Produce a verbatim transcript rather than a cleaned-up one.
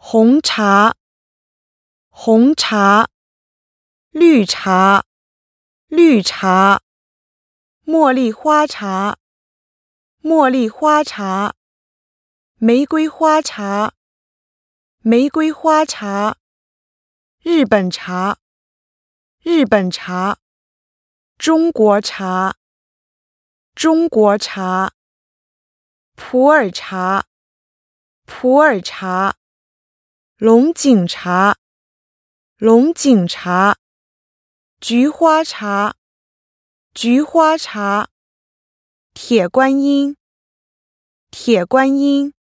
红茶，红茶，绿茶，绿茶，茉莉花茶，茉莉花茶，玫瑰花茶，玫瑰花茶，日本茶，日本茶，中国茶，中国茶，普洱茶，普洱茶，龙井茶，龙井茶，菊花茶，菊花茶，铁观音，铁观音。